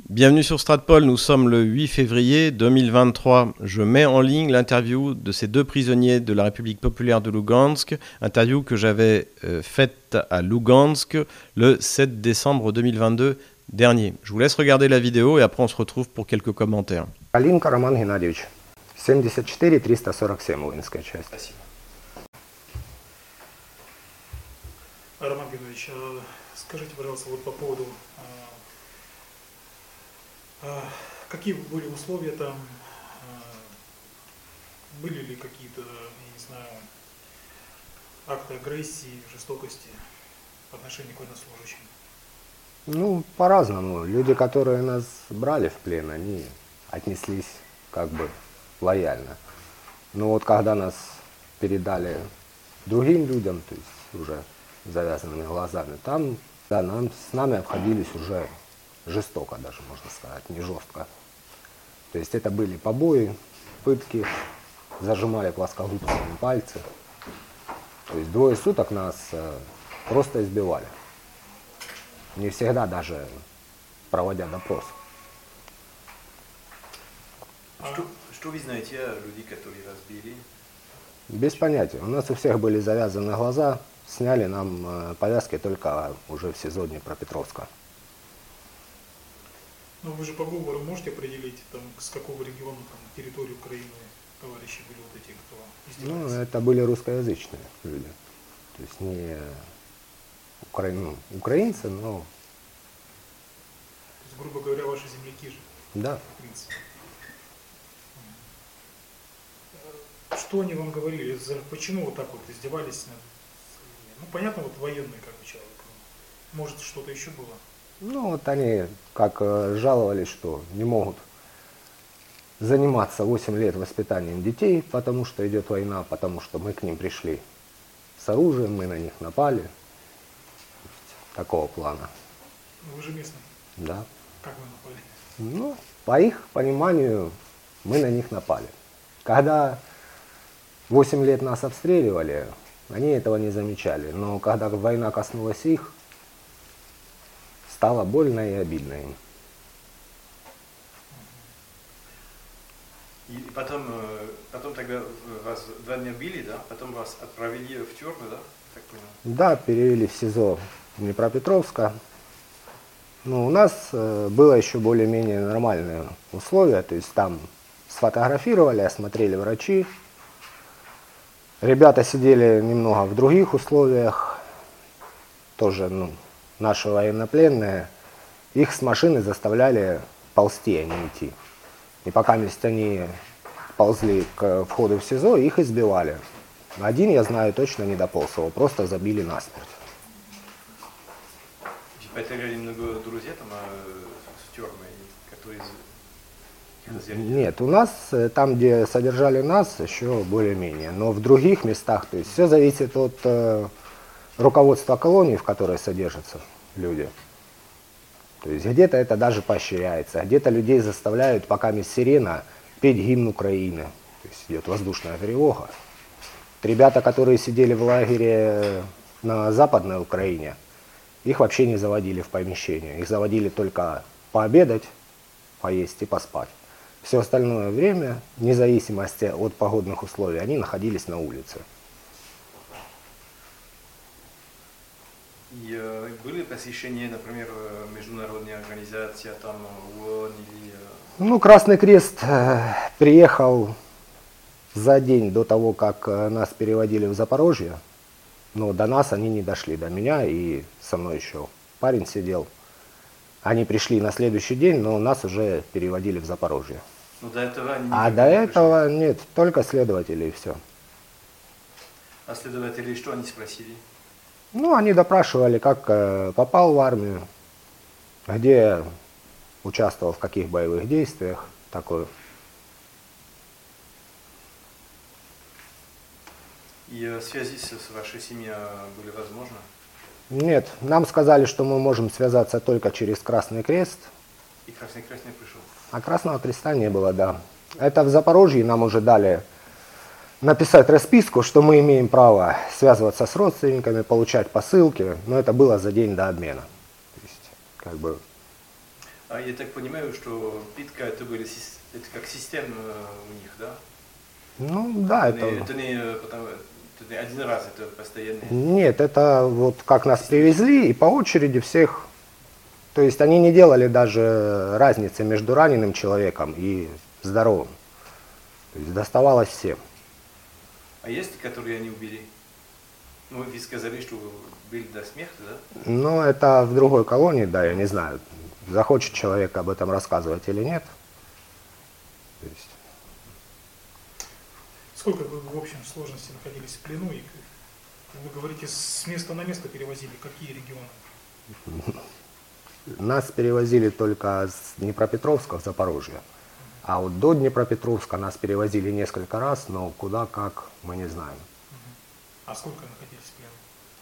Bienvenue sur Stratpol, nous sommes le 8 février 2023. Je mets en ligne l'interview de ces deux prisonniers de la République populaire de Lougansk, interview que j'avais faite à Lougansk le 7 décembre 2022 dernier. Je vous laisse regarder la vidéo et après on se retrouve pour quelques commentaires. Калинка Роман Геннадьевич, 74-347, воинская часть. Спасибо. Роман Геннадьевич, скажите, пожалуйста, вот по поводу, какие были условия там, были ли какие-то, я не знаю, акты агрессии, жестокости по отношению к военнослужащим? Ну, по-разному. Люди, которые нас брали в плен, они отнеслись как бы лояльно. Но вот когда нас передали другим людям, то есть уже завязанными глазами, там да, с нами обходились уже жестоко даже, можно сказать, не жестко. То есть это были побои, пытки, зажимали плоскогубцами пальцы. То есть 2 суток нас просто избивали. Не всегда даже проводя допрос. Что вы знаете о людей, которые вас били? Без понятия. У нас у всех были завязаны глаза, сняли нам повязки только уже в СИЗО Днепропетровска. Ну вы же по говору можете определить, там, с какого региона, там, территории Украины товарищи были вот эти, кто издевались? Ну, это были русскоязычные люди. То есть не украинцы, но... То есть, грубо говоря, ваши земляки же, Да. в принципе. Что они вам говорили? Почему вот так вот издевались над... Ну, понятно, вот военный как бы человек. Может, что-то еще было? Ну, вот они как жаловались, что не могут заниматься 8 лет воспитанием детей, потому что идет война, потому что мы к ним пришли с оружием, мы на них напали. Такого плана. Вы же местный. Да. Как вы напали? Ну, по их пониманию, мы на них напали. Когда 8 лет нас обстреливали, они этого не замечали. Но когда война коснулась их, стало больно и обидно им. И потом тогда вас 2 дня били, да? Потом вас отправили в тюрьму, да? Так понял? Да, перевели в СИЗО Днепропетровска. Ну, у нас было еще более-менее нормальные условия. То есть там сфотографировали, осмотрели врачи. Ребята сидели немного в других условиях. Тоже, наши военнопленные. Их с машины заставляли ползти, а не идти. И пока они ползли к входу в СИЗО, их избивали. Один, я знаю, точно не дополз, его просто забили насмерть. Потеряли много друзей там с тюрьмой, которые... Нет, у нас, там, где содержали нас, еще более-менее. Но в других местах, то есть все зависит от руководства колонии, в которой содержатся люди. То есть где-то это даже поощряется, где-то людей заставляют, пока есть сирена, петь гимн Украины. То есть идет воздушная тревога. Ребята, которые сидели в лагере на Западной Украине, их вообще не заводили в помещение. Их заводили только пообедать, поесть и поспать. Все остальное время, вне зависимости от погодных условий, они находились на улице. И были посещения, например, международные организации, там ООН или... Ну, Красный Крест приехал за день до того, как нас переводили в Запорожье. Но до нас они не дошли, до меня, и со мной еще парень сидел. Они пришли на следующий день, но нас уже переводили в Запорожье. Ну, до этого они До этого нет, только следователи и все. А следователи что они спросили? Ну, они допрашивали, как попал в армию, где участвовал, в каких боевых действиях, такое. И связи с вашей семьей были возможны? Нет, нам сказали, что мы можем связаться только через Красный Крест. И Красный Крест не пришел? А Красного Креста не было, да. Это в Запорожье нам уже дали написать расписку, что мы имеем право связываться с родственниками, получать посылки, но это было за день до обмена. То есть, как бы... А я так понимаю, что питка это были это как система у них, да? Ну да, это... Это не один раз, это постоянно. Нет, это вот как нас привезли и по очереди всех. То есть они не делали даже разницы между раненым человеком и здоровым. То есть доставалось всем. А есть, которые они убили? Ну, вы сказали, что были до смерти, да? Но это в другой колонии, да, я не знаю, захочет человек об этом рассказывать или нет. То есть, Сколько вы в общем сложности находились в плену? И вы говорите, с места на место перевозили. Какие регионы? нас перевозили только с Днепропетровска в Запорожье. А вот до Днепропетровска нас перевозили несколько раз, но куда, как, мы не знаем. А сколько находились в плену?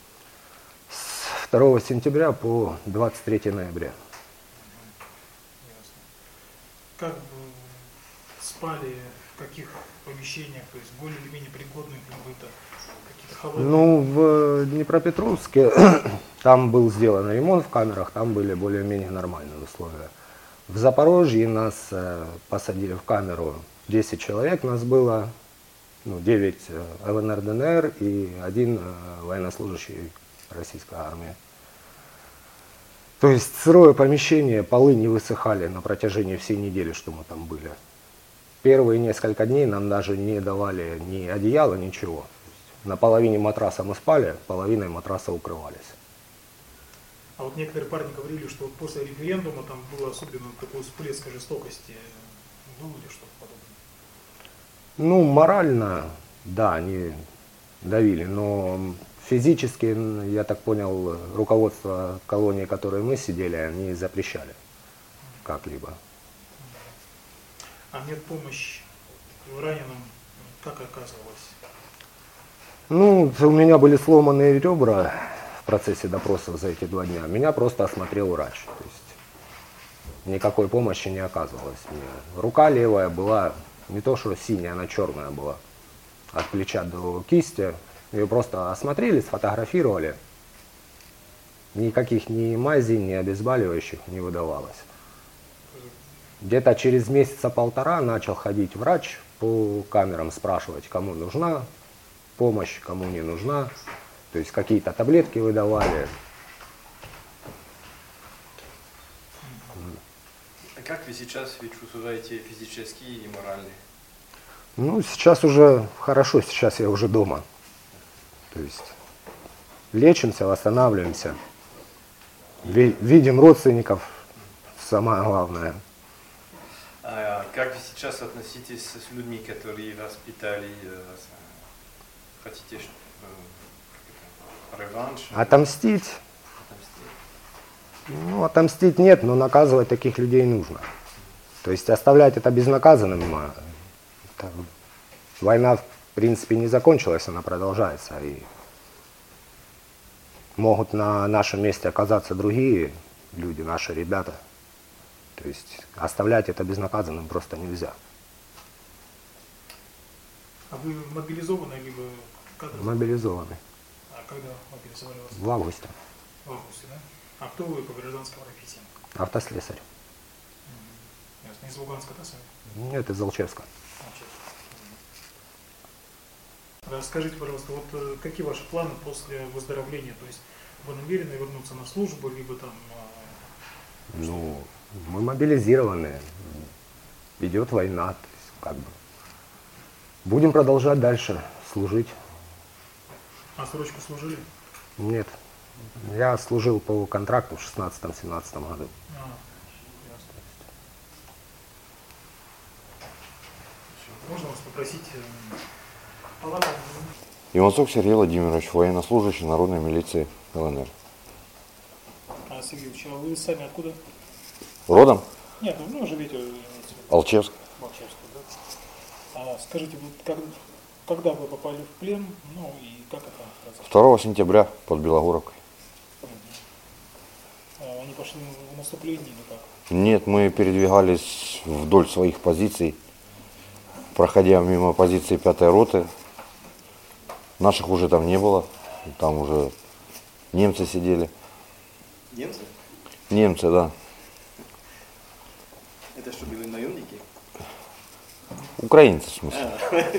С 2 сентября по 23 ноября. Ясно. Как вы спали, в каких помещениях, то есть более или менее пригодных для быта, какие-то холодные? Ну, в Днепропетровске там был сделан ремонт в камерах, там были более-менее нормальные условия. В Запорожье нас посадили в камеру, 10 человек нас было, ну, 9 ЛНР, ДНР и 1 военнослужащий российской армии. То есть сырое помещение, полы не высыхали на протяжении всей недели, что мы там были. Первые несколько дней нам даже не давали ни одеяла, ничего. На половине матраса мы спали, половиной матраса укрывались. А вот некоторые парни говорили, что вот после референдума там был особенно такой всплеск жестокости. Было ли что-то подобное? Ну, морально, да, они давили, но физически, я так понял, руководство колонии, в которой мы сидели, они запрещали как-либо. А медпомощь раненым как оказывалась? Ну, у меня были сломанные ребра в процессе допросов за эти 2 дня. Меня просто осмотрел врач. То есть никакой помощи не оказывалось мне. Рука левая была не то что синяя, она черная была. От плеча до кисти. Ее просто осмотрели, сфотографировали. Никаких ни мазей, ни обезболивающих не выдавалось. Где-то через месяца-полтора начал ходить врач по камерам, спрашивать, кому нужна помощь, кому не нужна. То есть какие-то таблетки выдавали. А как вы сейчас чувствуете физически и морально? Ну, сейчас уже хорошо, сейчас я уже дома. То есть лечимся, восстанавливаемся. Видим родственников, самое главное. А как вы сейчас относитесь с людьми, которые вас питали, хотите реванш? Отомстить? Отомстить? Ну, отомстить нет, но наказывать таких людей нужно. То есть оставлять это безнаказанным. Война, в принципе, не закончилась, она продолжается. И могут на нашем месте оказаться другие люди, наши ребята. То есть оставлять это безнаказанным просто нельзя. А вы мобилизованы, либо когда? Мобилизованы. А когда мобилизовали вас? В августе. В августе, да? А кто вы по гражданской профессии? Автослесарь. Ясно. Из Луганска, да, сами? Нет, из Алчевска. Расскажите, пожалуйста, вот какие ваши планы после выздоровления? То есть вы намерены вернуться на службу, либо там... Ну, мы мобилизированы. Идет война. То есть, как бы. Будем продолжать дальше служить. А срочку служили? Нет. Я служил по контракту в 16-17 году. Ясно. Можно вас попросить... Иванцов Сергей Владимирович, военнослужащий Народной милиции ЛНР. А, Сергей Ильич, а вы сами откуда? Родом? Нет, ну живете Алчевск. в Алчевске, да? А скажите, вот когда вы попали в плен, ну и как это произошло? 2 сентября под Белогоровкой. Они пошли в наступление или как? Нет, мы передвигались вдоль своих позиций, проходя мимо позиции 5-й роты. Наших уже там не было, там уже немцы сидели. Немцы? Немцы, да. Это что, были наемники? Украинцы, в смысле.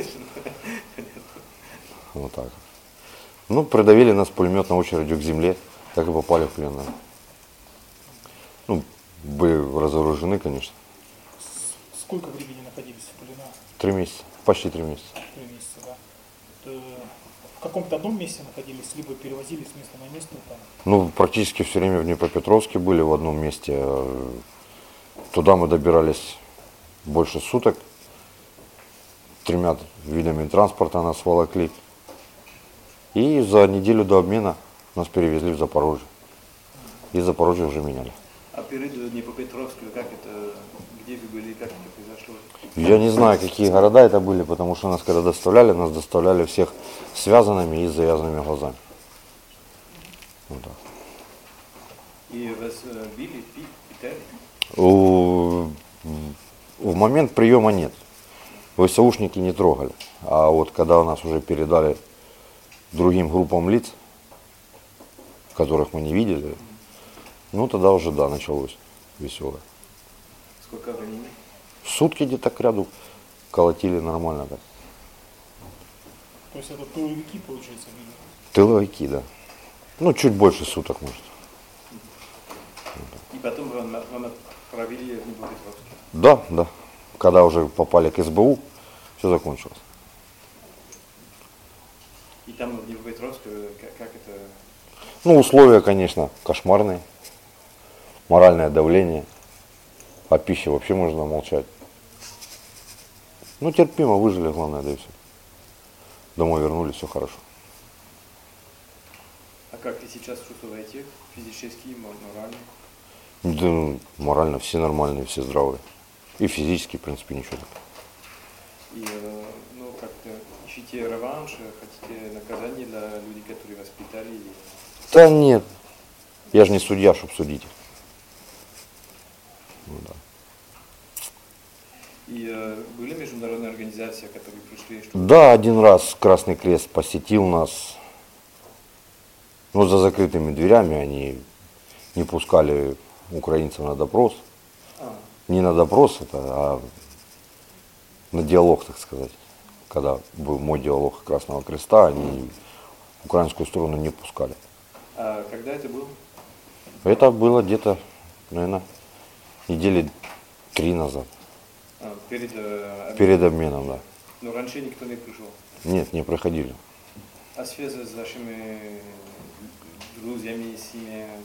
Вот так. Ну, придавили нас пулеметной очередью к земле, так и попали в плен. Да. Ну, были разоружены, конечно. Сколько времени находились в плену? 3 месяца, почти 3 месяца. 3 месяца, да. В каком-то одном месте находились, либо перевозили с места на место? Там. Ну, практически все время в Днепропетровске были в одном месте. Туда мы добирались больше суток. 3 видами транспорта нас волокли. И за неделю до обмена нас перевезли в Запорожье. И Запорожье уже меняли. А перед Днепропетровском, как это, где вы были, как это произошло? Я не знаю, какие города это были, потому что нас когда доставляли, нас доставляли всех связанными и с завязанными глазами. Вот так. И вас били, питали? В момент приема нет. ВСУшники не трогали. А вот когда нас уже передали другим группам лиц, которых мы не видели, ну тогда уже да, началось веселое. Сколько времени? Сутки где-то к ряду колотили нормально так. То есть это тыловики, получается, были? Тыловики, да. Ну, чуть больше суток, может. И потом вам отправили в Днепропетровск? Да, да. Когда уже попали к СБУ, все закончилось. И там в Днепропетровске, как это? Ну, условия, конечно, кошмарные. Моральное давление. О пище вообще можно молчать. Ну, терпимо, выжили, главное, да и все. Домой вернулись, все хорошо. А как вы сейчас чувствуете? Физически, морально? Да, морально все нормальные, все здравые. И физически, в принципе, ничего такого. И, ну, как-то ищите реванш, хотите наказание для людей, которые воспитали? Или... Да нет. Я же не судья, чтобы судить. Ну, да. И были международные организации, которые пришли? Чтобы... Да, один раз Красный Крест посетил нас. Но за закрытыми дверями они не пускали украинцев на допрос. Не на допрос, а на диалог, так сказать. Когда был мой диалог Красного Креста, они украинскую сторону не пускали. А когда это было? Это было где-то, наверное, недели 3 назад. Перед обменом? Перед обменом, да. Но раньше никто не пришел? Нет, не проходили. А связи с вашими друзьями, семьями?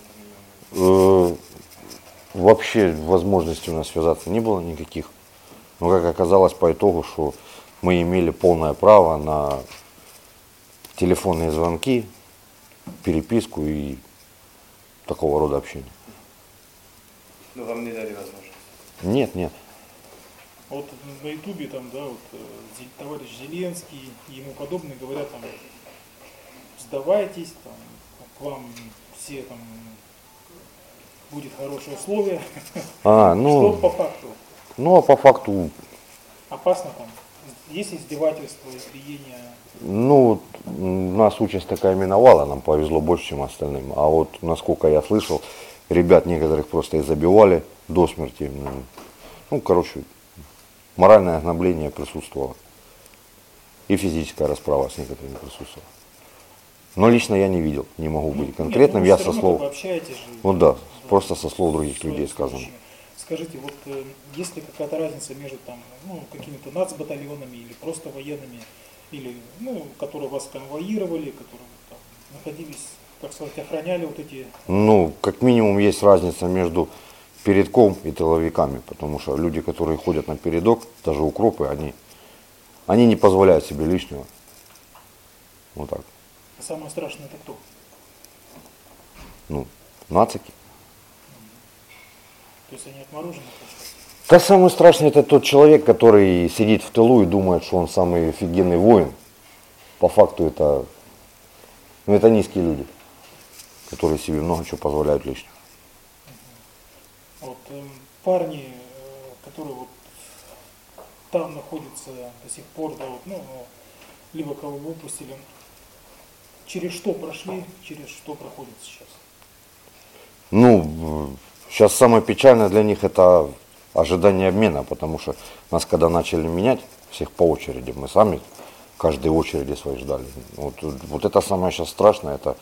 Вообще возможности у нас связаться не было никаких. Но как оказалось по итогу, что мы имели полное право на телефонные звонки, переписку и такого рода общение. Но вам не дали возможность? Нет, нет. Вот на Ютубе там, да, вот товарищ Зеленский и ему подобные говорят там, сдавайтесь, там, к вам все там будет хорошее условие. Ну, что по факту? Ну, а по факту, Опасно там? Есть издевательства, избиения? ну, нас участь такая миновала, нам повезло больше, чем остальным. А вот, насколько я слышал, ребят некоторых просто и забивали до смерти. Ну, короче, моральное ограбление присутствовало. И физическая расправа с некоторыми присутствовала. Но лично я не видел, не могу быть конкретным. Я со слов. Вы общаетесь же. Ну да, просто со слов других людей сказано. Скажите, вот есть ли какая-то разница между там, ну, какими-то нацбатальонами или просто военными, или, ну, которые вас конвоировали, которые там находились, так сказать, охраняли вот эти... Ну, как минимум есть разница между передком и тыловиками, потому что люди, которые ходят на передок, даже укропы, они не позволяют себе лишнего. Вот так. А самое страшное это кто? Ну, нацики. То есть они отморожены? Да самый страшный это тот человек, который сидит в тылу и думает, что он самый офигенный воин. По факту это, ну, это низкие люди, которые себе много чего позволяют лишнего. Вот парни, которые вот там находятся до сих пор, да, вот, ну, либо кого выпустили, через что прошли, через что проходят сейчас? Ну, сейчас самое печальное для них это ожидание обмена, потому что нас когда начали менять, всех по очереди, мы сами каждой очереди своей ждали. Вот это самое сейчас страшное, это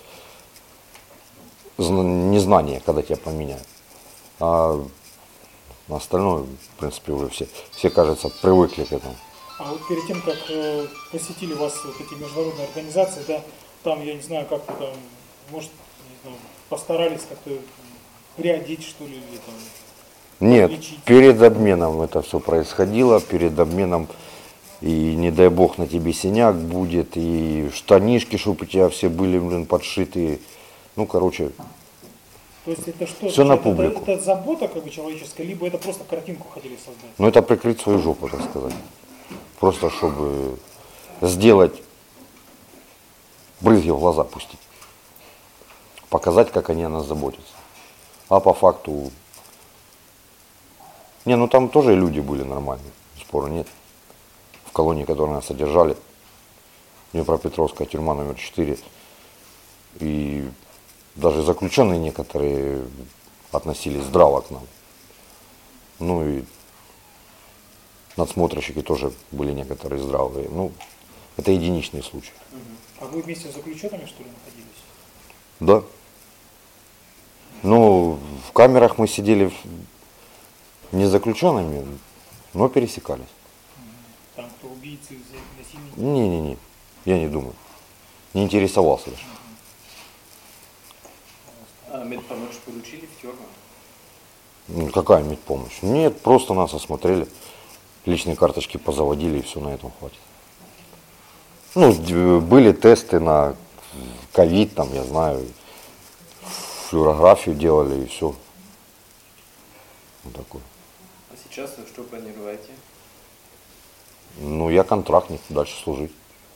незнание, когда тебя поменяют. А на остальное, в принципе, уже все, кажется, привыкли к этому. А вот перед тем, как посетили вас вот эти международные организации, да, там, я не знаю, как вы там, может, не знаю, постарались как-то приодеть, что ли, или там... Нет, лечить? перед обменом это все происходило, перед обменом, и не дай бог на тебе синяк будет, и штанишки, чтобы у тебя все были, блин, подшитые. Ну, короче, То есть это что? все на публику. Это забота как бы человеческая, либо это просто картинку хотели создать? Ну, это прикрыть свою жопу, так сказать. Просто чтобы сделать, брызги в глаза пустить. Показать, как они о нас заботятся. А по факту... Не, ну там тоже люди были нормальные, спора нет. В колонии, которые нас содержали, Днепропетровская тюрьма номер 4. И даже заключенные некоторые относились здраво к нам. Ну и надсмотрщики тоже были некоторые здравые. Ну, это единичные случаи. А вы вместе с заключенными, что ли, находились? Да. Ну, в камерах мы сидели не с заключенными, но пересекались. Там кто убийцы, насильники? Не-не-не, я не думаю. Не интересовался даже. А медпомощь получили в тюрьму? Ну, какая медпомощь? Нет, просто нас осмотрели, личные карточки позаводили, и все, на этом хватит. Ну, были тесты на ковид, там, я знаю, флюорографию делали, и все. Вот такое. А сейчас что планируете? Ну, я контрактник, дальше служить.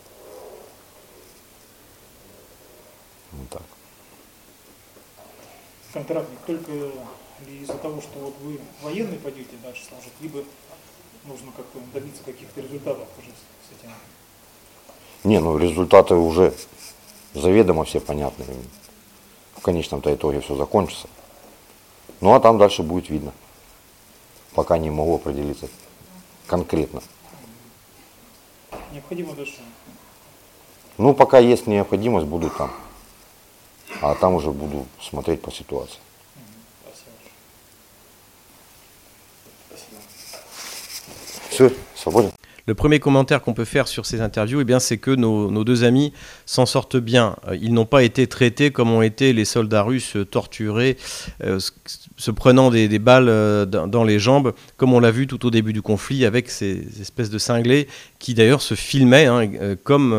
Вот так. Контрактник только ли из-за того, что вот вы военный пойдете дальше служить, либо нужно как-то добиться каких-то результатов уже с этим? Не, ну результаты уже заведомо все понятны. В конечном-то итоге все закончится. Ну а там дальше будет видно. Пока не могу определиться конкретно. Необходимо дальше? Ну, пока есть необходимость, буду там. А там уже буду смотреть по ситуации. Спасибо. Все, свободен. Le premier commentaire qu'on peut faire sur ces interviews, eh bien, c'est que nos deux amis s'en sortent bien. Ils n'ont pas été traités comme ont été les soldats russes torturés, se prenant des balles dans les jambes, comme on l'a vu tout au début du conflit avec ces espèces de cinglés qui d'ailleurs se filmaient comme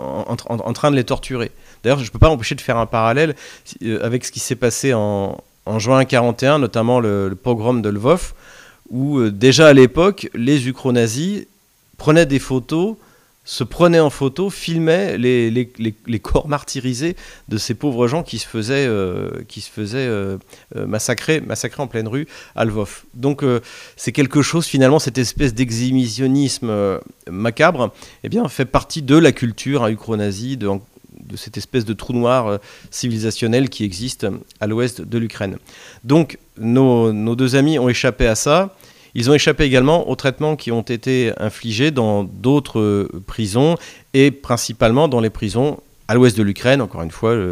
en train de les torturer. D'ailleurs, je ne peux pas empêcher de faire un parallèle avec ce qui s'est passé en juin 1941, notamment le pogrom de Lvov, où déjà à l'époque, les ukro-nazis prenaient des photos, se prenaient en photo, filmaient les corps martyrisés de ces pauvres gens qui se faisaient massacrer en pleine rue à Lvov. Donc c'est quelque chose, finalement, cette espèce d'exhibitionnisme macabre, eh bien, fait partie de la culture ukro-nazie, de cette espèce de trou noir civilisationnel qui existe à l'ouest de l'Ukraine. Donc nos deux amis ont échappé à ça. Ils ont échappé également aux traitements qui ont été infligés dans d'autres prisons et principalement dans les prisons à l'ouest de l'Ukraine, encore une fois,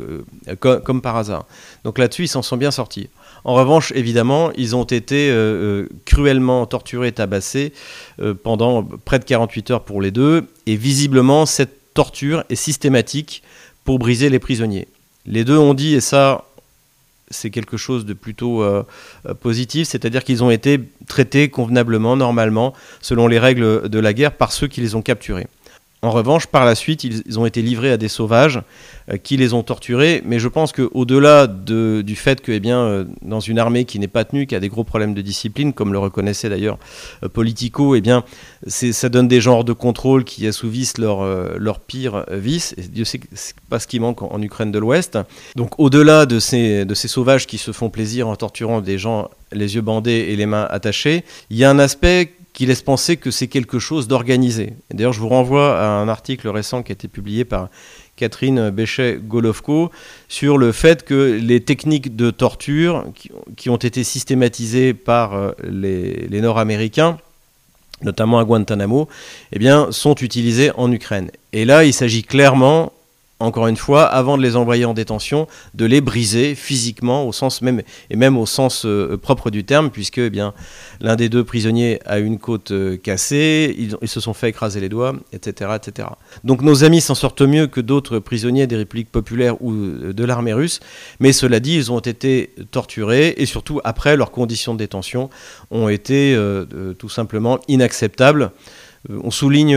comme par hasard. Donc là-dessus, ils s'en sont bien sortis. En revanche, évidemment, ils ont été cruellement torturés et tabassés pendant près de 48 heures pour les deux. Et visiblement, cette torture est systématique pour briser les prisonniers. Les deux ont dit, et ça, c'est quelque chose de plutôt positif, c'est-à-dire qu'ils ont été traités convenablement, normalement, selon les règles de la guerre, par ceux qui les ont capturés. En revanche, par la suite, ils ont été livrés à des sauvages qui les ont torturés, mais je pense qu'au-delà du fait que, dans une armée qui n'est pas tenue, qui a des gros problèmes de discipline, comme le reconnaissait d'ailleurs Politico, ça donne des genres de contrôle qui assouvissent leurs pires vices, et Dieu sait que c'est pas ce qui manque en Ukraine de l'Ouest. Donc au-delà de ces sauvages qui se font plaisir en torturant des gens les yeux bandés et les mains attachées, il y a un aspect qui laisse penser que c'est quelque chose d'organisé. D'ailleurs, je vous renvoie à un article récent qui a été publié par Catherine Béchet-Golovko, sur le fait que les techniques de torture qui ont été systématisées par les Nord-Américains, notamment à Guantanamo, eh bien, sont utilisées en Ukraine. Et là, il s'agit clairement, encore une fois, avant de les envoyer en détention, de les briser physiquement, au sens même, et même au sens propre du terme, puisque eh bien, l'un des deux prisonniers a une côte cassée, ils se sont fait écraser les doigts, etc., etc. Donc nos amis s'en sortent mieux que d'autres prisonniers des républiques populaires ou de l'armée russe, mais cela dit, ils ont été torturés, et surtout après, leurs conditions de détention ont été tout simplement inacceptables. On souligne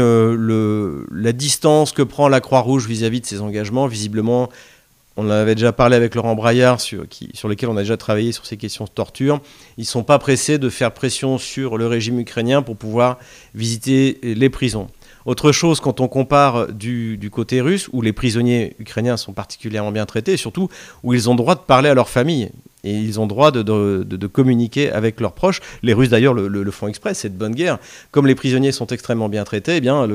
la distance que prend la Croix-Rouge vis-à-vis de ses engagements. Visiblement, on en avait déjà parlé avec Laurent Braillard, sur lesquels on a déjà travaillé sur ces questions de torture. Ils ne sont pas pressés de faire pression sur le régime ukrainien pour pouvoir visiter les prisons. Autre chose, quand on compare du côté russe, où les prisonniers ukrainiens sont particulièrement bien traités, et surtout où ils ont le droit de parler à leur famille, et ils ont le droit de communiquer avec leurs proches. Les Russes d'ailleurs le font exprès, c'est de bonne guerre. Comme les prisonniers sont extrêmement bien traités, eh bien,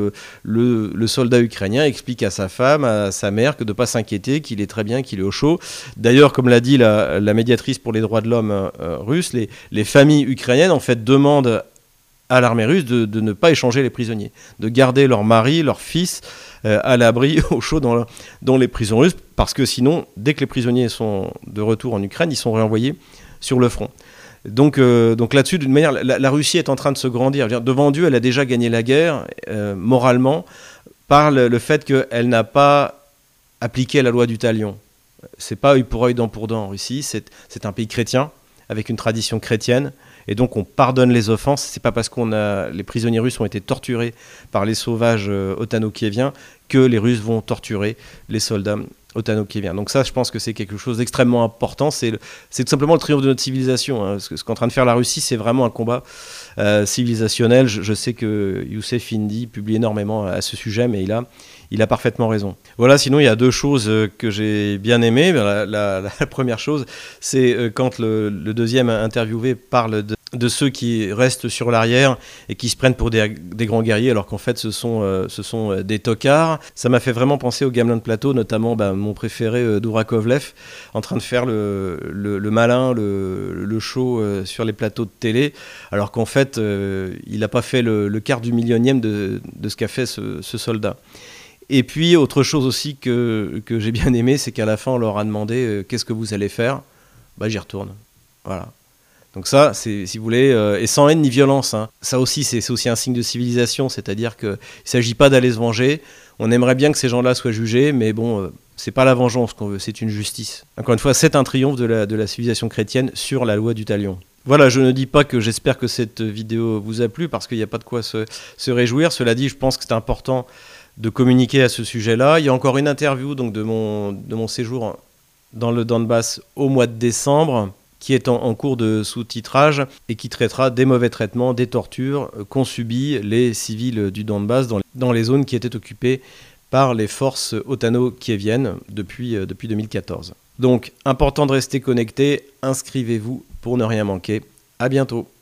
le soldat ukrainien explique à sa femme, à sa mère, que de ne pas s'inquiéter, qu'il est très bien, qu'il est au chaud. D'ailleurs, comme l'a dit la médiatrice pour les droits de l'homme russe, les familles ukrainiennes en fait demandent à l'armée russe de ne pas échanger les prisonniers, de garder leur mari, leur fils à l'abri, au chaud dans les prisons russes, parce que sinon, dès que les prisonniers sont de retour en Ukraine, ils sont renvoyés sur le front. Donc là-dessus, d'une manière, la Russie est en train de se grandir. Je veux dire, devant Dieu, elle a déjà gagné la guerre, moralement, par le fait qu'elle n'a pas appliqué la loi du talion. C'est pas œil pour œil, dent pour dent en Russie, c'est un pays chrétien, avec une tradition chrétienne, et donc on pardonne les offenses. C'est pas parce les prisonniers russes ont été torturés par les sauvages ottano-kieviens que les Russes vont torturer les soldats ottano-kieviens. Donc ça, je pense que c'est quelque chose d'extrêmement important. C'est tout simplement le triomphe de notre civilisation. Hein. Ce qu'est en train de faire la Russie, c'est vraiment un combat civilisationnel. Je sais que Youssef Indy publie énormément à ce sujet, mais il a parfaitement raison. Voilà, sinon il y a deux choses que j'ai bien aimées. La première chose, c'est quand le deuxième interviewé parle de ceux qui restent sur l'arrière et qui se prennent pour des grands guerriers, alors qu'en fait ce sont des tocards. Ça m'a fait vraiment penser au Gamelin de Plateau, notamment mon préféré Dourakovlev, en train de faire le malin, le show sur les plateaux de télé, alors qu'en fait il n'a pas fait le quart du millionième de ce qu'a fait ce soldat. Et puis, autre chose aussi que j'ai bien aimé, c'est qu'à la fin, on leur a demandé qu'est-ce que vous allez faire ? J'y retourne. Voilà. Donc ça, c'est, si vous voulez, et sans haine ni violence. Hein. Ça aussi, c'est aussi un signe de civilisation, c'est-à-dire qu'il ne s'agit pas d'aller se venger. On aimerait bien que ces gens-là soient jugés, mais bon, c'est pas la vengeance qu'on veut, c'est une justice. Encore une fois, c'est un triomphe de la civilisation chrétienne sur la loi du talion. Voilà, je ne dis pas que j'espère que cette vidéo vous a plu, parce qu'il n'y a pas de quoi se réjouir. Cela dit, je pense que c'est important de communiquer à ce sujet-là. Il y a encore une interview donc, de mon séjour dans le Donbass au mois de décembre, qui est en cours de sous-titrage et qui traitera des mauvais traitements, des tortures qu'ont subi les civils du Donbass dans les zones qui étaient occupées par les forces ottano-kieviennes depuis 2014. Donc, important de rester connecté, inscrivez-vous pour ne rien manquer. À bientôt.